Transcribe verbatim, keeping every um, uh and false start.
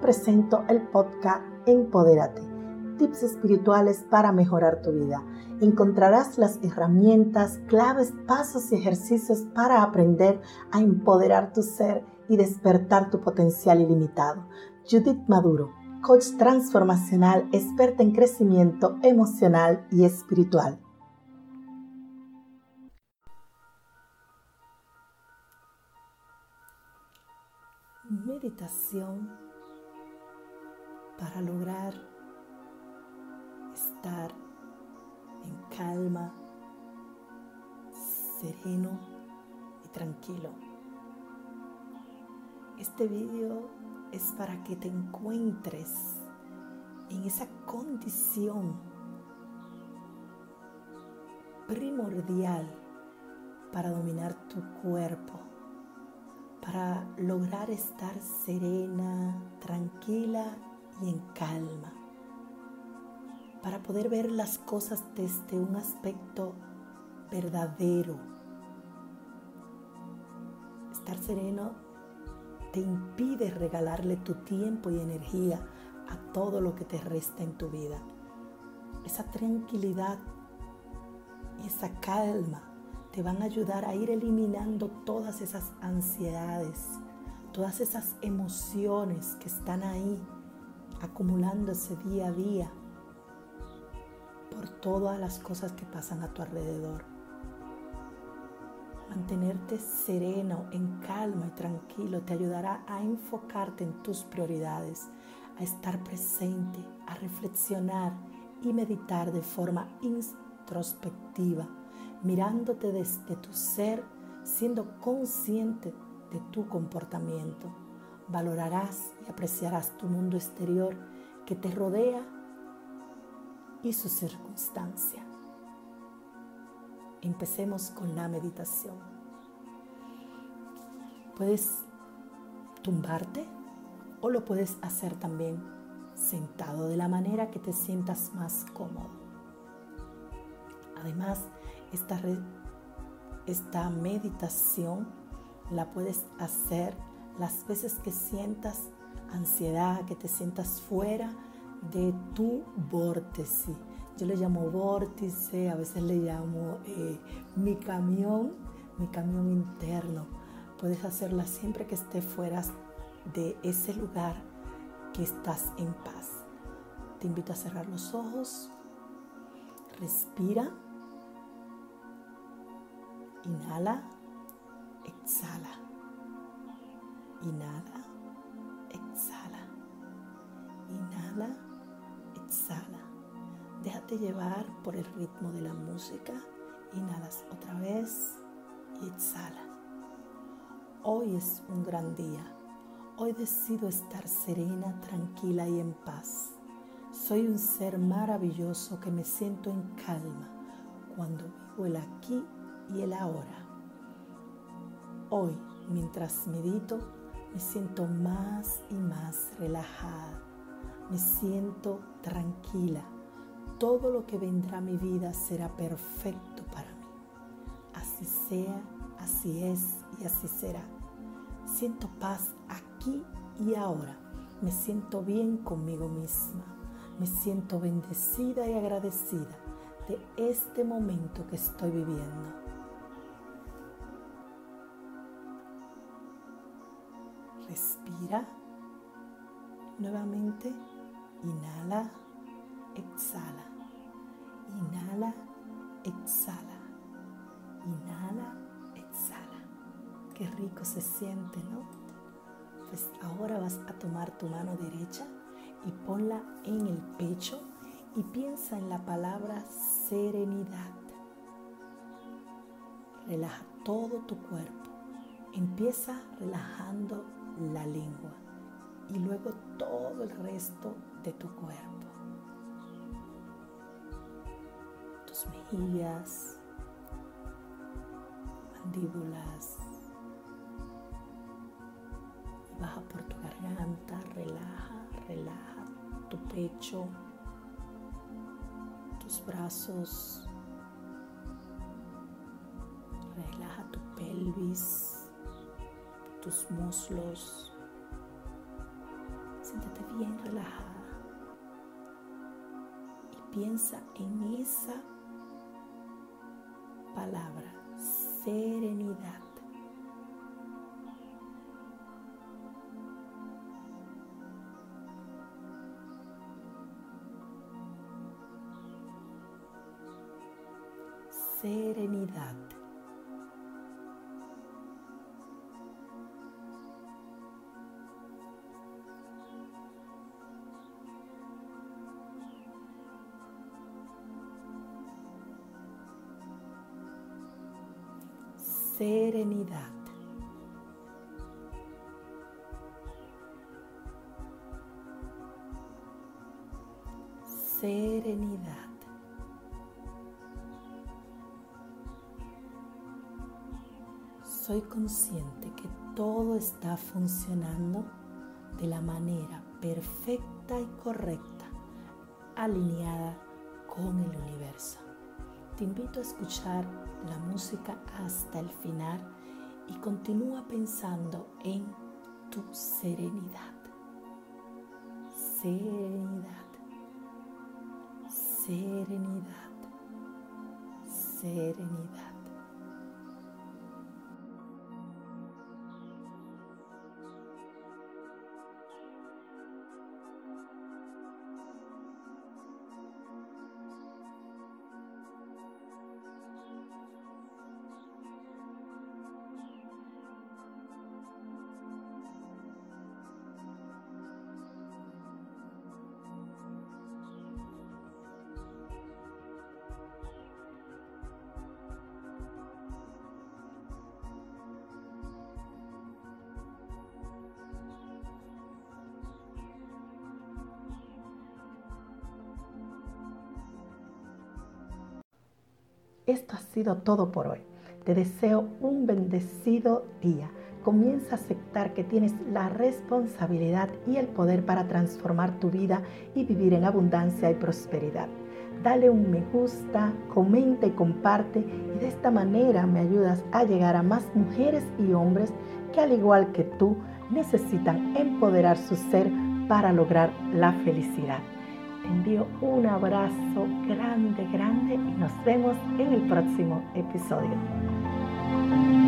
presento el podcast Empodérate, tips espirituales para mejorar tu vida. Encontrarás las herramientas, claves, pasos y ejercicios para aprender a empoderar tu ser y despertar tu potencial ilimitado. Judith Maduro, coach transformacional, experta en crecimiento emocional y espiritual. Meditación para lograr estar en calma, sereno y tranquilo. Este video es para que te encuentres en esa condición primordial para dominar tu cuerpo, para lograr estar serena, tranquila y en calma, para poder ver las cosas desde un aspecto verdadero. Estar sereno te impide regalarle tu tiempo y energía a todo lo que te resta en tu vida. Esa tranquilidad y esa calma te van a ayudar a ir eliminando todas esas ansiedades, todas esas emociones que están ahí acumulándose día a día por todas las cosas que pasan a tu alrededor. Mantenerte sereno, en calma y tranquilo te ayudará a enfocarte en tus prioridades, a estar presente, a reflexionar y meditar de forma introspectiva, mirándote desde tu ser, siendo consciente de tu comportamiento. Valorarás y apreciarás tu mundo exterior que te rodea y su circunstancia. Empecemos con la meditación. Puedes tumbarte o lo puedes hacer también sentado, de la manera que te sientas más cómodo. Además, esta, re, esta meditación la puedes hacer las veces que sientas ansiedad, que te sientas fuera de tu vórtice. Yo le llamo vórtice, a veces le llamo eh, mi camión, mi camión interno. Puedes hacerla siempre que estés fuera de ese lugar que estás en paz. Te invito a cerrar los ojos, respira. Inhala, exhala. Inhala, exhala. Inhala, exhala. Déjate llevar por el ritmo de la música. Inhalas otra vez y exhala. Hoy es un gran día. Hoy decido estar serena, tranquila y en paz. Soy un ser maravilloso que me siento en calma cuando vivo el aquí y el ahora. Hoy, mientras medito, me siento más y más relajada. Me siento tranquila. Todo lo que vendrá a mi vida será perfecto para mí. Así sea, así es y así será. Siento paz aquí y ahora. Me siento bien conmigo misma. Me siento bendecida y agradecida de este momento que estoy viviendo. Respira. Nuevamente, inhala, exhala. Inhala, exhala. Inhala, exhala. Qué rico se siente, ¿no? Pues ahora vas a tomar tu mano derecha y ponla en el pecho y piensa en la palabra serenidad. Relaja todo tu cuerpo. Empieza relajando la lengua y luego todo el resto de tu cuerpo. Tus mejillas, mandíbulas. Y baja por tu garganta, relaja, relaja tu pecho, tus brazos. Relaja tu pelvis, tus muslos. Siéntate bien relajada y piensa en esa palabra, serenidad. Serenidad. Serenidad. Serenidad. Soy consciente que todo está funcionando de la manera perfecta y correcta, alineada con el universo. Te invito a escuchar la música hasta el final y continúa pensando en tu serenidad. Serenidad. Serenidad. Serenidad. Esto ha sido todo por hoy. Te deseo un bendecido día. Comienza a aceptar que tienes la responsabilidad y el poder para transformar tu vida y vivir en abundancia y prosperidad. Dale un me gusta, comenta y comparte, y de esta manera me ayudas a llegar a más mujeres y hombres que, al igual que tú, necesitan empoderar su ser para lograr la felicidad. Te envío un abrazo grande, grande y nos vemos en el próximo episodio.